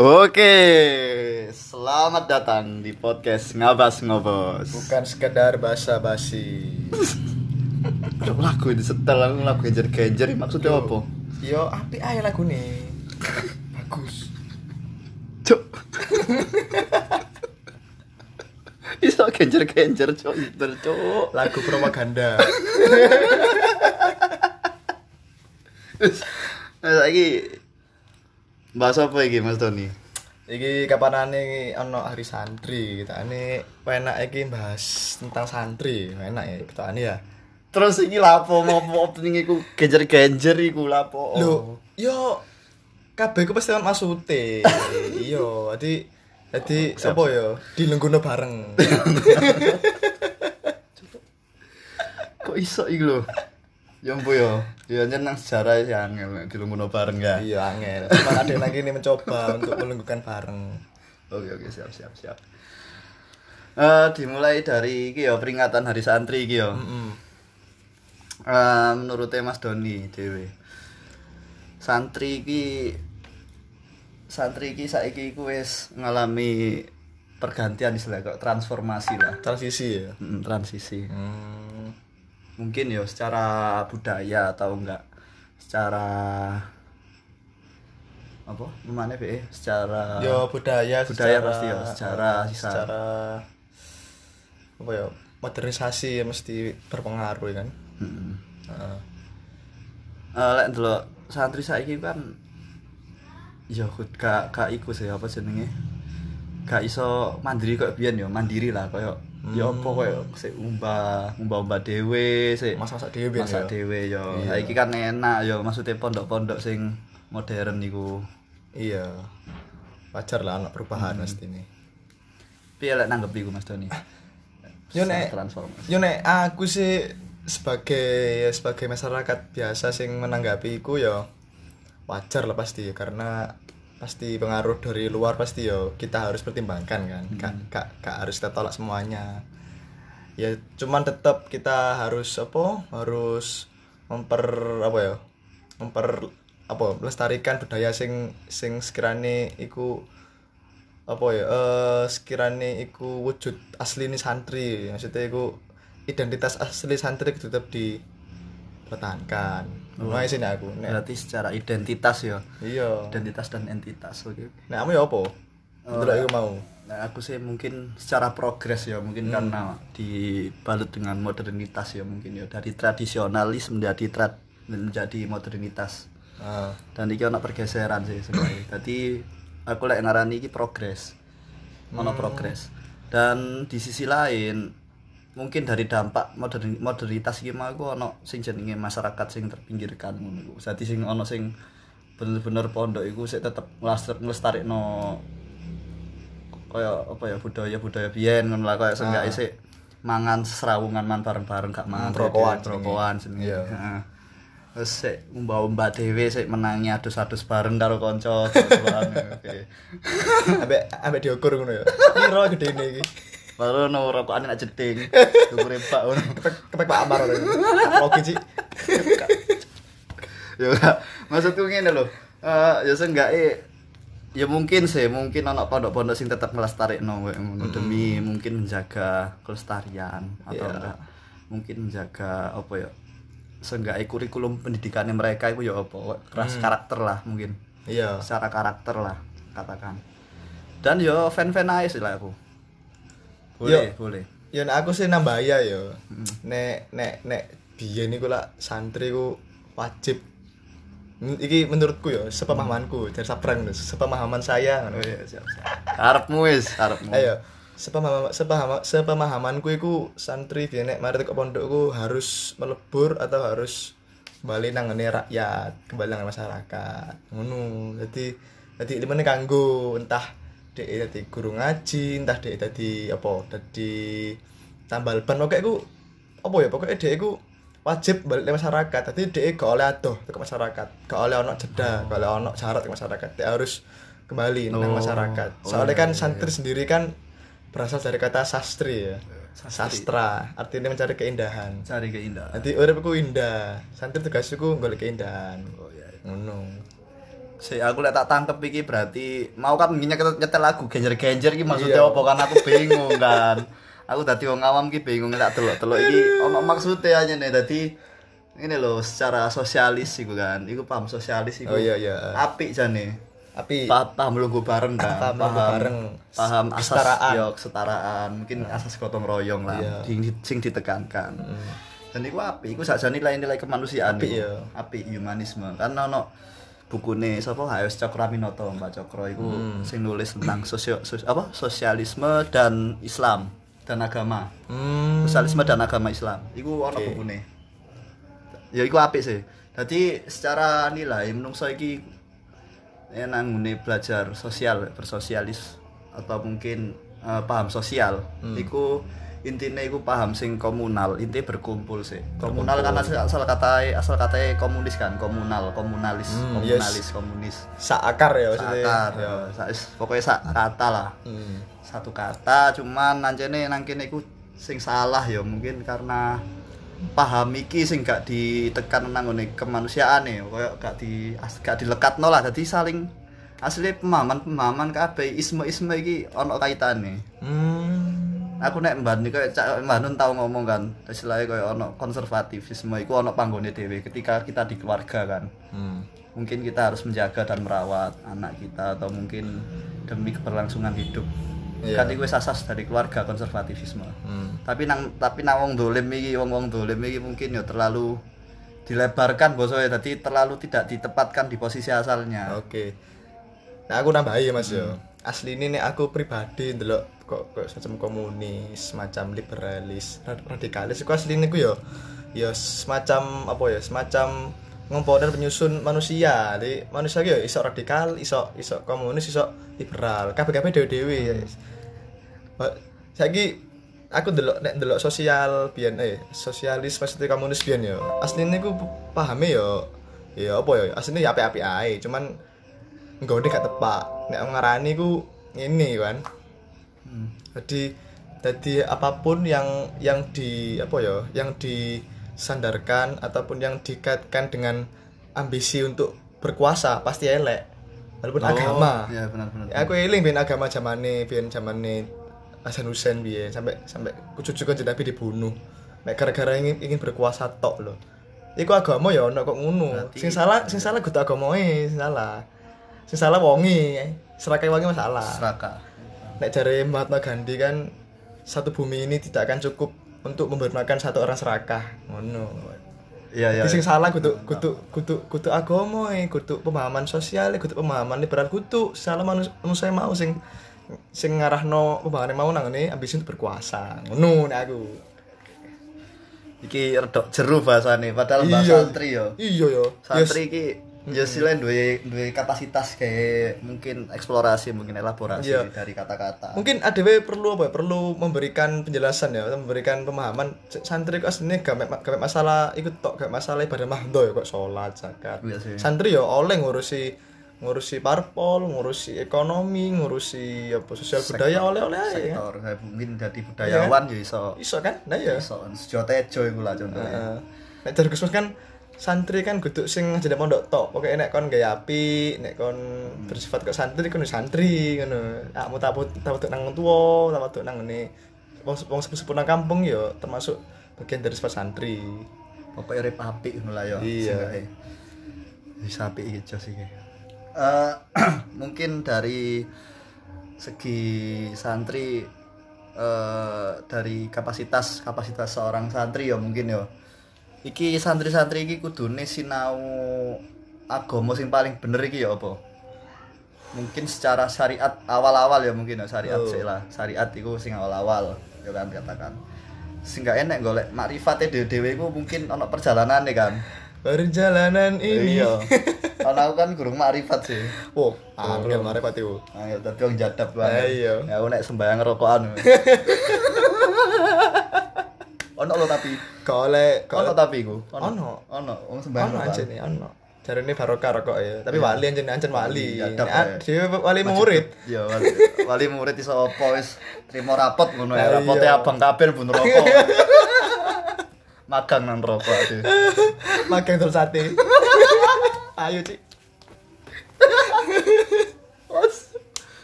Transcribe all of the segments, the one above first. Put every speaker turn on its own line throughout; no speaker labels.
Oke, selamat datang di podcast Ngabas Ngobos.
Bukan sekedar basa-basi.
Aduh, lagu ini setel, lagu genjer-genjer maksudnya apa?
Yo, apik ae lagune. Bagus.
Cuk. Iso genjer-genjer cuk, cuk.
Lagu propaganda.
Saiki bahas apa iki Mas Tony?
Iki kapanane ana hari santri, kitane enak iki bahas tentang santri. Enak ya kitane ya.
Terus iki lapo mau opening iku genjer-genjer iku lapo?
Lho, yo kabeh ku pasti ono maksute. Iya, jadi
Siap.
apa ya? Dilenggono bareng.
Kok iso iki lho? Ya ampun ya. Ya nyenang sejarah ya angel dilungguno bareng ya.
Iya, angel. Cuma ada lagi ini mencoba untuk melenggukan bareng.
Oke, siap. Dimulai dari iki ya peringatan Hari Santri iki ya. Menurut Mas Doni dhewe. Santri iki saiki iku wis ngalami pergantian istilah kok transformasi lah.
Transisi ya.
Transisi. Mungkin ya secara budaya atau enggak secara apa namanya be secara
Yo budaya
pasti ya secara
apa ya modernisasi ya mesti berpengaruh ya kan.
Lek ndelok santri saiki kan ya gak iku sih apa jenenge gak iso mandiri kok biyen ya mandiri lah koyo ya apa koyo sik umbah dhewe sik
Masak dhewe biyen
masak
ya.
dhewe ya
Iya.
saiki kan enak ya maksudnya pondok-pondok sing modern niku.
Iya. Wajar lah anak perubahan mesti ini.
Piye lek nanggep iku Mas Doni?
Yo nek
transformasi.
aku sih sebagai masyarakat biasa sing menanggapi iku ya wajar lah pasti karena pasti pengaruh dari luar pasti ya kita harus pertimbangkan kan. Gak harus kita tolak semuanya. Ya cuman tetap kita harus melestarikan budaya sing sekirane iku sekirane iku wujud asline santri. Maksudnya iku identitas asli santri tetap dipertahankan. Ngono sih nek aku.
Berarti secara identitas ya.
Iya.
Identitas dan entitas. Oke.
Nek kamu ya apa? Delok iku mau.
Nah, aku sih mungkin secara progres ya mungkin karena dibalut dengan modernitas ya mungkin ya dari tradisionalis menjadi modernitas. Dan iki ana pergeseran sih sebenarnya. Dadi aku lek ngarani iki progres. Ono progres. Dan di sisi lain mungkin dari dampak modernitas iki mah aku ono sing jenenge masyarakat sing terpinggirkan ngono iku. Dadi sing ono sing bener-bener pondok iku sik tetep nglestarikno kaya apa ya budaya biyen ngono lah kaya senggake sik mangan serawungan man bareng-bareng gak mangan rokokan jenenge.
Iya.
Heeh. Terus sik umbah-umbah dhewe sik menangi adus-adus bareng karo kanca. Oke.
Ambek diukur ngono ya. Piro gedene iki?
Baru no rokokan enak jeding. Dukure Pak ngono.
Kepek Pak Amar ngono. Logi sih.
Ya maksudku ngene lho. Ya senggake ya mungkin ana pondok-pondok sing tetep nglestarikno ngono demi mungkin menjaga kelestarian atau enggak mungkin menjaga apa ya senggake kurikulum pendidikannya mereka itu ya apa keras karakter lah mungkin.
Iya.
Secara karakter lah katakan. Dan yo fan-fan ae sih lah aku. Boleh.
Ya nek aku sih nambah ya. Nek biyen iku lak santri ku wajib. Iki menurutku ya, sepemahamanku, dari sabrang sepemahaman saya ngono.
Oh iya, siap. Karepmu.
Ayo, sepemahamanku iku santri biyen nek mari ke pondokku harus melebur atau harus kembali nang ngene rakyat, kembali nang masyarakat. Ngono. Dadi limene kanggo entah dhek dadi guru ngaji, entah dhek dadi tambal ban pokoke iku pokoke dhek iku wajib balik ke masyarakat. Dadi dhek gak oleh adoh ke masyarakat, gak oleh ono jeda, gak oleh ono syarat ke masyarakat. Dhek harus kembali nang masyarakat. Soalnya kan santri sendiri kan berasal dari kata sastri ya. Sastra, artinya mencari keindahan. Nanti uripku indah. Santri tugasku golek keindahan.
Oh iya.
Ngono.
Aku lek tak tangkep iki berarti mau kan nyetel lagu genjer-genjer iki maksudnya apa kan aku bingung kan. Aku dadi wong awam iki bingung tak delok-delok iki ono maksudnya aja nih dadi ini loh secara sosialis iku kan. Iku paham sosialis iku.
Oh iya.
Apik jane.
Tapi
paham lungguh bareng kan. Paham asas
kesetaraan.
Kesetaraan, mungkin asas gotong royong lah sing ditekankan. Dan iku apik, iku sakjane nilai-nilai kemanusiaan iku. Apik humanisme. Kan ono bukune sapa H.S. Cokraminoto, Mbak Cokro iku sing nulis tentang sosialisme dan Islam dan agama. Sosialisme dan agama Islam. Iku ono bukune. Ya iku apik sih. Dadi secara nilai menungso iki nang ngene belajar sosial, bersosialis atau mungkin paham sosial. Iku intine iku paham sing komunal, inti berkumpul sih. Komunal kan asal kata komunis kan, komunalis. Komunis.
Sak akar ya maksudnya.
Akar ya. Pokoknya sak kata lah. Satu kata cuman nancene nang kene iku sing salah ya mungkin karena paham iki sing gak ditekan nang ngene kemanusiaane, koyo gak dilekatno lah. Dadi saling asli pemahaman kabeh isme iki ana kaitane. Aku nek mbani koyo Cak Mbah tau ngomong kan, istilahnya koyo ono konservatifisme iku ono panggone dhewe ketika kita di keluarga kan. Mungkin kita harus menjaga dan merawat anak kita atau mungkin demi keberlangsungan hidup. Kan iku wis asas dari keluarga konservatifisme. Tapi nang wong dolim iki, wong dolim iki mungkin ya terlalu dilebarkan bosone, dadi terlalu tidak ditempatkan di posisi asalnya.
Oke. Nah, aku nambahi ya Mas yo. Asline nek aku pribadi ndelok kok semacam komunis, semacam liberalis, radikalis iku asline ku ya semacam apa ya, semacam ngomponen penyusun manusia. Jadi manusia ki ya iso radikal, iso komunis, iso liberal. Kabeh-kabeh dhewe-dhewe. Saiki aku ndelok sosial biyen sosialis maksudnya komunis biyen ya. Asline ku pahame ya apa ya, asline ya apik-apik ae, cuman nggone gak tepak. Nek ngarani ku ngene kan. Jadi apapun yang disandarkan ataupun yang dikaitkan dengan ambisi untuk berkuasa pasti elek. Walaupun agama.
Iya benar.
Ya, aku eling ben agama zamane Hasan Hussein biyen sampai cucu kanjeng Nabi dibunuh. Mek gara-gara ingin berkuasa tok lho. Iku agama ya ono kok ngono. Sing salah kudu agamae, sing salah. Sing salah wonge. Serakah wonge masalah.
Serakah.
Nek jare Mahatma Gandhi kan satu bumi ini tidak akan cukup untuk membermakan satu orang serakah. Ngono. Iya. Sing salah kudu agama, kudu pemahaman sosial, kudu pemahaman liberal, kudu salah manusia mau sing ngarahno pemahaman mau nang ngene ambisi untuk berkuasa. Ngono nek aku.
Iki redok jeru bahasane padahal bahasa santri yo.
Iya yo.
Santri iki ya selain duwe kapasitas kayak mungkin eksplorasi, mungkin elaborasi dari kata-kata.
Mungkin ADW perlu memberikan penjelasan ya, memberikan pemahaman. Santri kok asline gak masalah ikut tok, gak masalah ibadah mahdo ya kok salat, zakat. Santri ya oleh ngurusi parpol, ngurusi ekonomi, ngurusi apa sosial budaya oleh-oleh ae.
Sektor mungkin jadi budayawan ya iso.
Iso kan? Nah ya.
Iso sejotejo iku lah contohnya.
Nek jar Gusmus kan santri kan kudu sing jadi pondok tok. Pokoke nek kon gaya apik, nek kon bersifat kok santri kon santri ngono. Akmu tak nang tuwa, tak nang ngene. Wong sepuh nang kampung ya termasuk bagian dari sifat santri.
Pokoke urip apik ngono lah ya.
Iya.
Wis apik iki jos iki. Mungkin dari segi santri dari kapasitas seorang santri ya mungkin ya. Iki santri-santri iki kudune sinau agama sing paling bener iki ya apa? Mungkin secara syariat awal-awal ya mungkin ya syariat sih lah. Syariat iku sing awal-awal ya kan katakan. Sing gak enek golek makrifate dhewe-dhewe iku mungkin ana perjalanane kan.
Perjalanan ini.
Iya. Ana aku kan gurung makrifat sih.
Oh, angel makrifat iku.
Angel dadi wong jadab banget.
Iya.
Ya aku nek sembayang rokokan. Ono lho tapi ono tapi iku.
Ono
wong sembayang rokokan.
Ono anjene ono. Jarene barokah rokok ya. Tapi wali ancen wali. Dhewe wali murid.
Ya wali murid iso apa wis trimo rapot ngono ya. Rapote abang kabel bun rokok. Magang nang rokok aduh.
Magang terus sate. Ayo, Cik.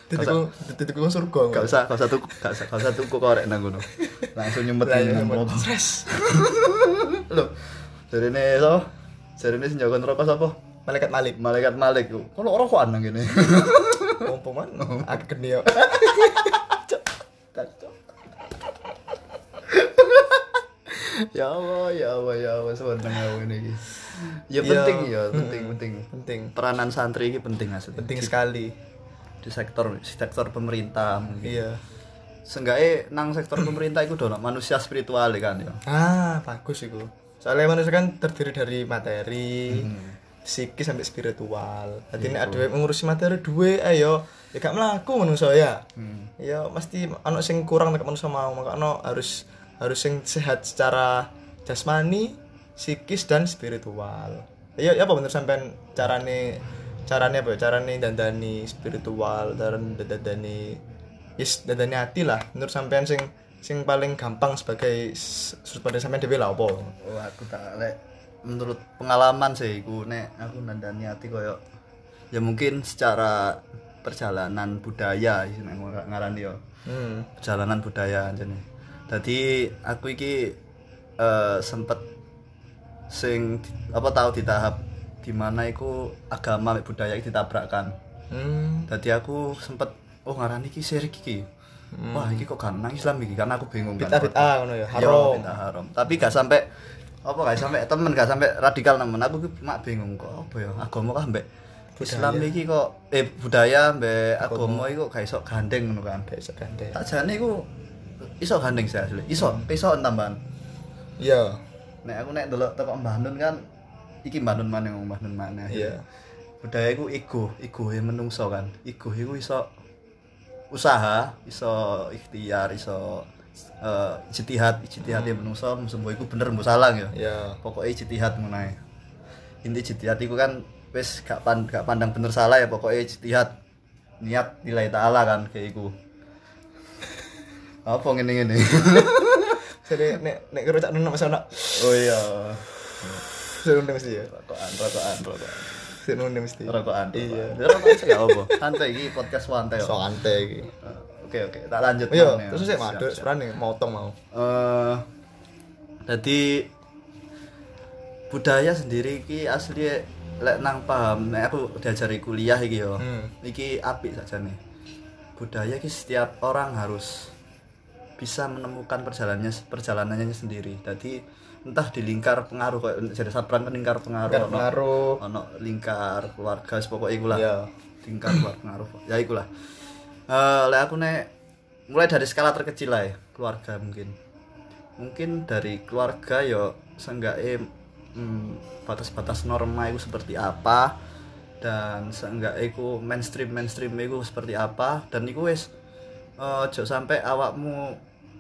Titikku surga.
Gak usah tuku korek nang ngono. Langsung nyempetin rokok.
Stres.
Lho, jarine so, jarine sing jago rokok sapa?
Malaikat Malik.
Malaikat Malik. Kono rokokan nang kene.
Pompoman agak gede yo.
Ya Allah, sebentar aku ini. Ya penting. Peranan santri ini penting asli.
Penting sekali
Di sektor pemerintah mungkin.
iya.
Seenggaknya nang sektor pemerintah itu udah manusia spiritual kan ya.
Bagus iku. Soalnya manusia kan terdiri dari materi, psikis sampai spiritual. Jadi nek dhewe mengurusi materi duwe ayo ya gak mlaku manusia ya. Ya mesti ana sing kurang nek manusia mau, makanya harus sing sehat secara jasmani, psikis dan spiritual. Ya apa menurut sampean carane apa ya? Carane dandani spiritual, dandani dandani hati lah. Menurut sampean sing paling gampang sebagai sudut pandang sampean dhewe lah apa?
Oh, aku tak lek menurut pengalaman sih aku nandani hati koyo ya mungkin secara perjalanan budaya ngarani yo. Perjalanan budaya jane. Dadi aku iki sempet sing tahu di tahap dimana iku agama mek budaya iki ditabrakkan. Dadi aku sempet ngarani iki syirik iki. Wah, iki kok kan nang Islam iki karena aku bingung kan.
Bid'ah ngono ya, haram.
Bid'ah haram. Tapi gak sampai gak sampai radikal nemen. Aku mak bingung kok apa ya agama kah mbek Islam iki kok budaya mbek agama iki kok gak iso gandeng ngono kan.
Gak iso gandeng.
Tak jane iku iso gandeng sih asli. Iso tambahan.
Iya.
Nek aku delok teko Mbah Nun kan iki Mbah Nun maneh.
Iya.
Budaya iku ego menungso kan. Ego iku iso usaha, iso ikhtiar, iso ijtihad ya menungso sembo iku bener mbok salah ya.
Iya.
Pokoke ijtihad ngono ae. Inti ijtihad iku kan wis gak pandang bener salah ya, pokoke ijtihad. Niat nilai ta'ala kan kayak iku. Apa ngene-ngene.
Jadi nek karo cak Nun masih ana.
Oh iya.
Serunde mesti ya.
Rokokan.
Serunde mesti.
Rokokan.
Iya.
Rokokan sih gak apa. Santai iki podcast santai.
Santai iki.
Oke, tak lanjut.
Iya, terus sik madhuk seprane motong mau.
Jadi budaya sendiri iki asli lek nang paham nek aku diajari kuliah iki yo. Iki apik sakjane. Budaya iki setiap orang harus bisa menemukan perjalanannya sendiri. Jadi entah di lingkar pengaruh kayak jadi sapran kan lingkar pengaruh. Ono lingkar keluarga pokoke iku lah.
Iya.
Lingkar pengaruh. Ya iku lah. Lek aku nek mulai dari skala terkecil lah ya, keluarga mungkin dari keluarga yo seenggaknya batas-batas norma itu seperti apa dan seenggaknya itu mainstream itu seperti apa dan itu wis ojo sampai awakmu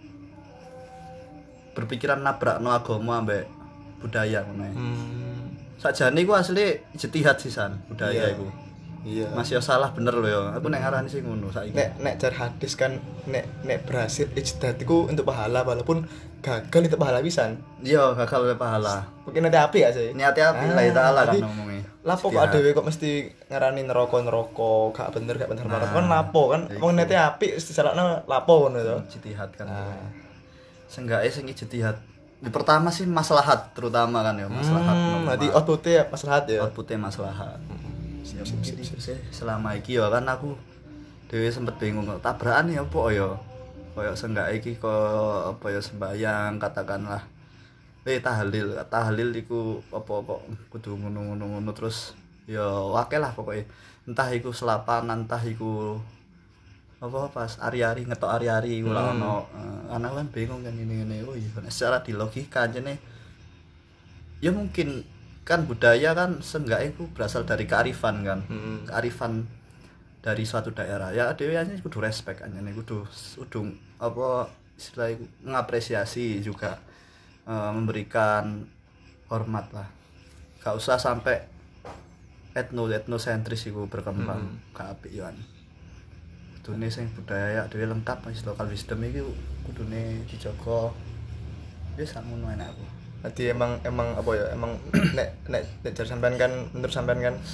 berpikiran nabrakno agama ambek budaya ngono. Sakjane iku asli ijtihad sisan budaya iku. Iya. Masih salah bener lho ya. Aku nek ngarani sing ngono saiki.
Nek jar hadis kan nek berhasil ijtihad iku untuk pahala walaupun gagal itu pahala pisan.
Iya, gagal oleh pahala.
Mungkin nanti api gak sih?
Niati api lah taala kan ngomongnya.
Lapo kok adewe kok mesti ngarani neraka gak bener kan lapo kan wong niati api disalahno lapo ngono to.
Ijtihad kan. Seenggaknya sing ijtihad. Di pertama sih maslahat terutama kan ya, maslahat.
Berarti outputnya maslahat ya.
Outputnya maslahat. Ya mungkin itu sih selama iki ya kan aku dhewe sempet bingung tabrakan ya apa ya koyo seenggaknya iki kok apa ya sembayang katakanlah tahlil iku apa kudu ngono terus ya akeh lah pokoknya entah iku selapan entah iku apa pas ari-ari ngetok ari-ari iku lah ono anak kan bingung kan ini oh iya secara di logika jane ya mungkin kan budaya kan seenggaknya itu berasal dari kearifan kan. Kearifan dari suatu daerah ya dhewe kudu respect anjene kudu apa istilahnya mengapresiasi juga memberikan hormat lah. Gak usah sampai etnosentris iku berkembang gak apik yo an. Kudune sing budaya dhewe lengkap wis lokal wisdom iki kudune dijaga. Wis sakmono enak aku.
Jadi emang apa ya emang nek jar sampean kan menurut sampean kan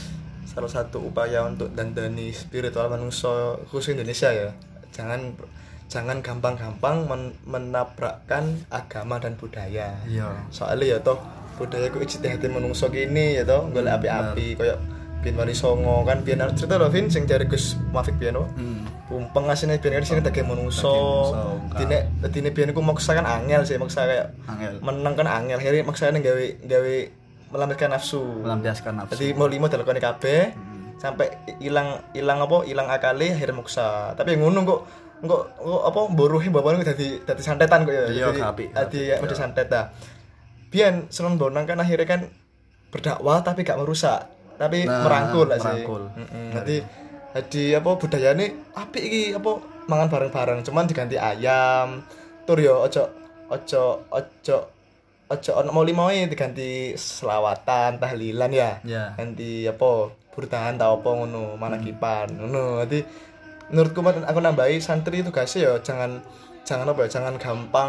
salah satu upaya untuk dandani spiritual manusia khusus Indonesia ya. Jangan gampang-gampang menabrakkan agama dan budaya.
Iya.
Soalnya ya toh budaya ku ijtihate manungsa kene ya toh golek api-api koyo Biyen Wali Songo kan biyen cerita lho Vin sing jare Gus Muafik biyen wae. Pumpeng asine biyen kan sing daging manungsa. Dine biyen ku maksa kan angel sih, maksa kayak meneng kan angel. Akhire maksane gawe melampiaskan nafsu. Jadi mau limo dilakoni kabeh sampai ilang akale akhirnya maksa. Tapi ngono kok apa mburuhe bapakne dadi santetan kok ya. Dadi macam santet ta. Biyen Sunan Bonang kan akhirnya kan berdakwah tapi gak merusak. Tapi merangkul lah sih. Jadi apa budayane apik iki apa mangan bareng-bareng cuman diganti ayam. Tur yo ojo ono molimoe diganti selawatan, tahlilan ya. Ganti apa burdahan ta apa ngono, manakipan. Ngono. Dadi menurutku aku nambahi santri itu tugasnya ya jangan gampang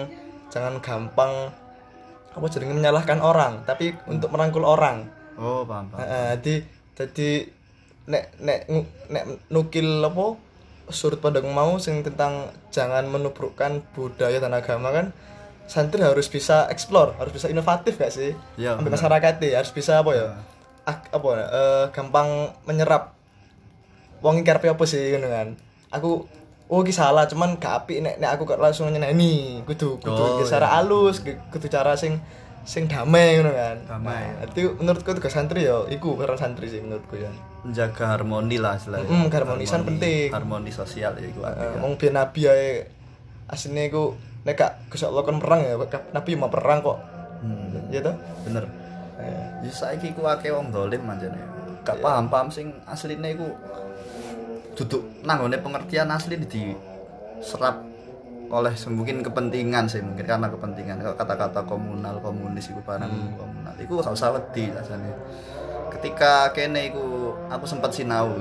apa jenenge menyalahkan orang, tapi untuk merangkul orang.
Oh, paham.
Jadi nek nukil apa sudut pandang mau sing tentang jangan menubrukkan budaya dan agama kan santri harus bisa explore, harus bisa inovatif gak sih?
Ya,
ambil masyarakat harus bisa apa ya? Gampang menyerap wong iki karepe apa sih ngono kan. Aku iki salah cuman gak apik nek aku kok langsung nyeneni. Kudu secara halus, kudu cara sing damai ngono kan.
Damai.
Itu menurutku tugas santri ya iku peran santri sih menurutku ya.
Menjaga harmoni lah istilahnya.
Harmonisan penting.
Harmoni sosial ya iku.
Wong biyen nabi ae asline iku nek gak Gusti Allah kon perang ya nabi mau perang kok. Ya toh?
Bener. Ya saiki ku akeh wong dolim manjane. Gak paham sing asline iku duduk nang ngone pengertian asli diserap oleh mungkin kepentingan sih, mungkin karena kepentingan kata-kata komunis iku barang komunal iku gak usah wedi rasane. Ketika kene iku aku sempat sinau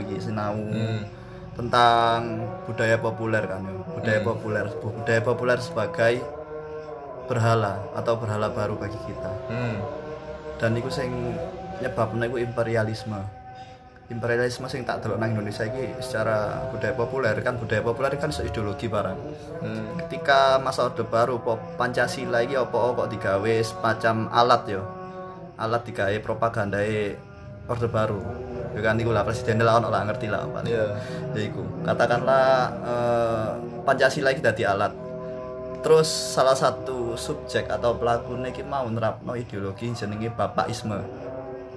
tentang budaya populer kan ya. Budaya populer sebagai berhala atau berhala baru bagi kita. Dan iku sing nyebabne iku imperialisme sing tak delok nang Indonesia iki secara budaya populer kan ideologi barang. Ketika masa Orde Baru Pancasila iki apa kok digawe semacam alat digawe propagandae Orde Baru. Ya kan iku lah presiden lah ono lah ngerti lah apa. Ya iku. Katakanlah Pancasila iki dadi alat. Terus salah satu subjek atau pelakune iki mau nerapno ideologi jenenge Bapakisme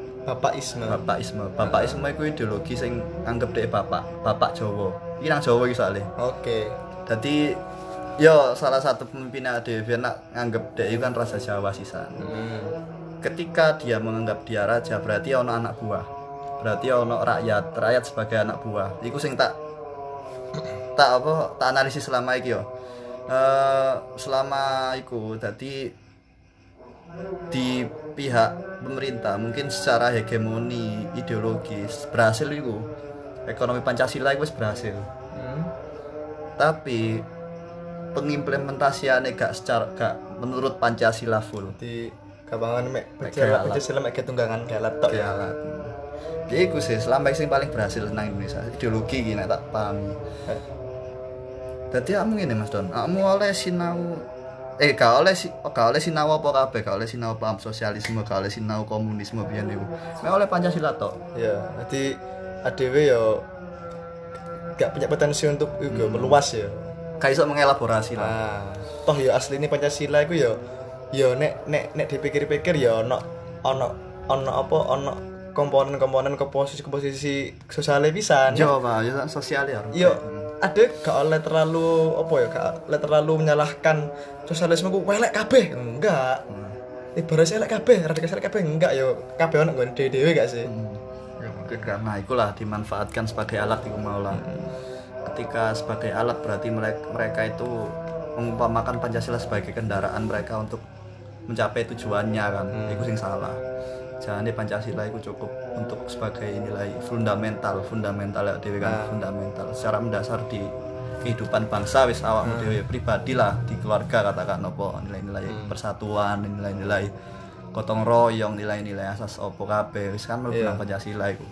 iku ideologi sing anggap dhek bapak Jawa. Iki nang Jawa iki soalé. Oke. Dadi yo salah satu pemimpin dhewe nak nganggep dhek iku kan raja Jawa sisan. Ketika dia menganggap dia raja berarti ono anak buah. Berarti ono rakyat sebagai anak buah. Iku sing tak analisis selama iki yo. Selama iku dadi di pihak pemerintah mungkin secara hegemoni ideologis berhasil itu ekonomi Pancasila itu berhasil tapi pengimplementasiannya gak menurut Pancasila full
di kabangan Pancasila mek tunggangan galat tok ya
ya itu sih selama yang paling berhasil nang Indonesia ideologi gini tak pahami jadi kamu gini Mas Don kamu oleh sinau gak oleh sinau apa kabeh, gak oleh sinau paham sosialisme, gak oleh sinau komunisme biyen niku. Mek oleh Pancasila tok.
Ya, dadi adewe yo gak punya potensi untuk meluas ya.
Gak iso mengelaborasi lah.
Toh ya asline Pancasila iku yo nek dipikir-pikir ya ono komponen komposisi sosiale pisan.
Yo, Pak, ya sosial ya.
Yo ada gak oleh terlalu menyalahkan sosialisme ku welek kabeh enggak. Ibaratnya elek kabeh, radikal elek kabeh enggak yo kabeh ono nggon dhewe gak sih.
Ya mungkin karena itulah dimanfaatkan sebagai alat iku maulah. Ketika sebagai alat berarti mereka itu mengumpamakan Pancasila sebagai kendaraan mereka untuk mencapai tujuannya kan. Iku sing salah. Jangan Pancasila itu cukup untuk sebagai nilai fundamental ya dhewe kan fundamental secara mendasar di kehidupan bangsa wis awakmu dhewe pribadi lah di keluarga katakan apa nilai-nilai persatuan, nilai-nilai gotong royong, nilai-nilai asas apa kabeh wis kan mlebu Pancasila iku.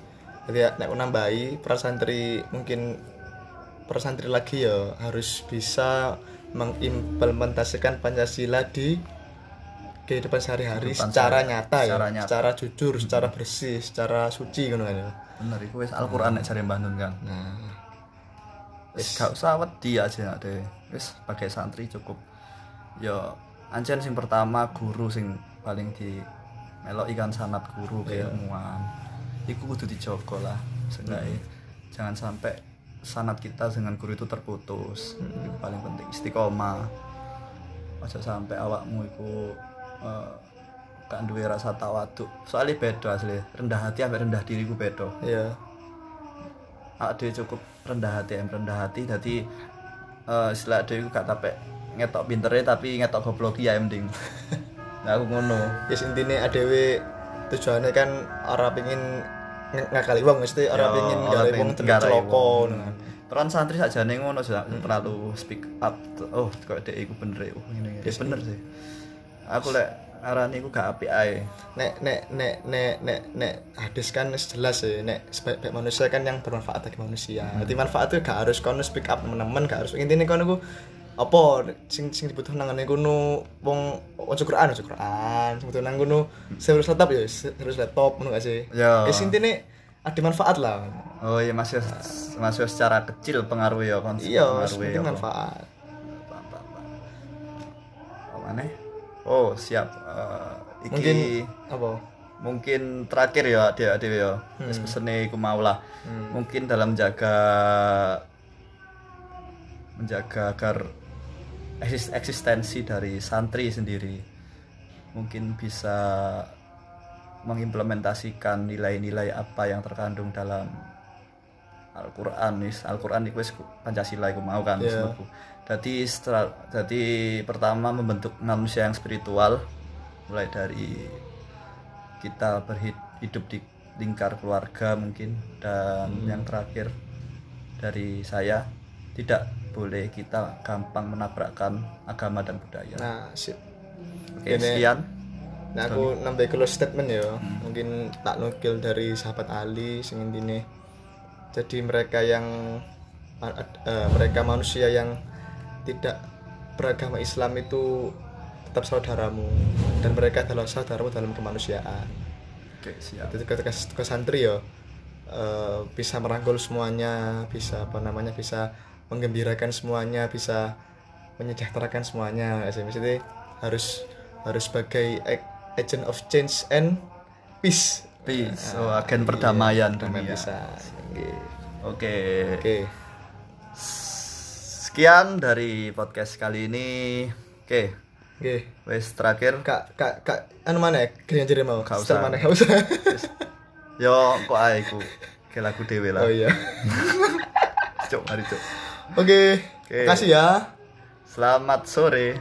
Jadi ya, nek nambahi para santri mungkin para santri lagi ya harus bisa mengimplementasikan Pancasila di kehidupan sehari-hari secara nyata ya, secara jujur, secara bersih, secara suci ngono kan ya.
Bener iku wis Al-Qur'an nek jare Mbah Nun kan.
Nah,
Wis gak usah wedi aja nek wis sebagai santri cukup. Ya ancen sing pertama guru sing paling di meloki kan sanad guru keilmuan. Iku kudu dijogo lah. Seenggaknya jangan sampai sanad kita dengan guru itu terputus. Itu paling penting istiqomah. Aja sampai awakmu iku gak duwe rasa tawaduk. Soalnya beda asli. Rendah hati sampai rendah diri ku beda.
iya.
Ade cukup rendah hati dadi istilah ade iku gak tapek ngetok pintere tapi ngetok goblok ya mending. Nah aku ngono.
Yes intine adewe tujuannya kan ora pengin ngakali wong mesti ora pengin gawe wong celoko.
Peran santri sakjane ngono terlalu speak up. Oh kok dek iku bener oh ngene. Ya bener sih. Aku lek arane iku gak apik ae. Nek
hadis kan jelas ya nek sebaik manusia kan yang bermanfaat bagi manusia. Jadi manfaat itu gak harus kono speak up teman-teman, gak harus intine kono ku apa sing dibutuhkan nang ngene kono wong waca Quran sing butuh nang kono serius laptop ya serius laptop ngono gak sih?
Ya.
Wis intine ada manfaat lah.
Oh iya masih secara kecil pengaruh ya kan.
Iya, penting manfaat.
Apa maneh? Oh, siap. Iki
mungkin apa?
Mungkin terakhir ya adik-adik ya. Wis pesene iku mau lah. Mungkin dalam menjaga agar eksistensi dari santri sendiri mungkin bisa mengimplementasikan nilai-nilai apa yang terkandung dalam Al-Qur'an. Al-Qur'an iku wis Pancasila iku mau kan sebetulnya. Jadi pertama membentuk manusia yang spiritual mulai dari kita hidup di lingkar keluarga mungkin dan yang terakhir dari saya tidak boleh kita gampang menabrakkan agama dan budaya.
Nah, sip.
Oke, sekian.
Nah, aku nambah close statement ya. Mungkin tak nukil dari sahabat Ali sing intine. Jadi mereka manusia yang tidak beragama Islam itu tetap saudaramu dan mereka adalah saudaramu dalam kemanusiaan.
Oke, siap.
Jadi ke santri ya bisa merangkul semuanya, bisa bisa menggembirakan semuanya, bisa menyejahterakan semuanya. Maksudnya harus sebagai agent of change and peace.
Oh, agen perdamaian dunia.
Bisa.
Oke. Sekian dari podcast kali ini. Oke. Wes terakhir
Kak anu mana ya? Gini aja mau.
Gak usah.
Mana gak usah.
Yo kok ae iku. Ke lagu dhewe lah.
Oh iya.
Cuk, mari cuk.
Oke. Makasih ya.
Selamat sore.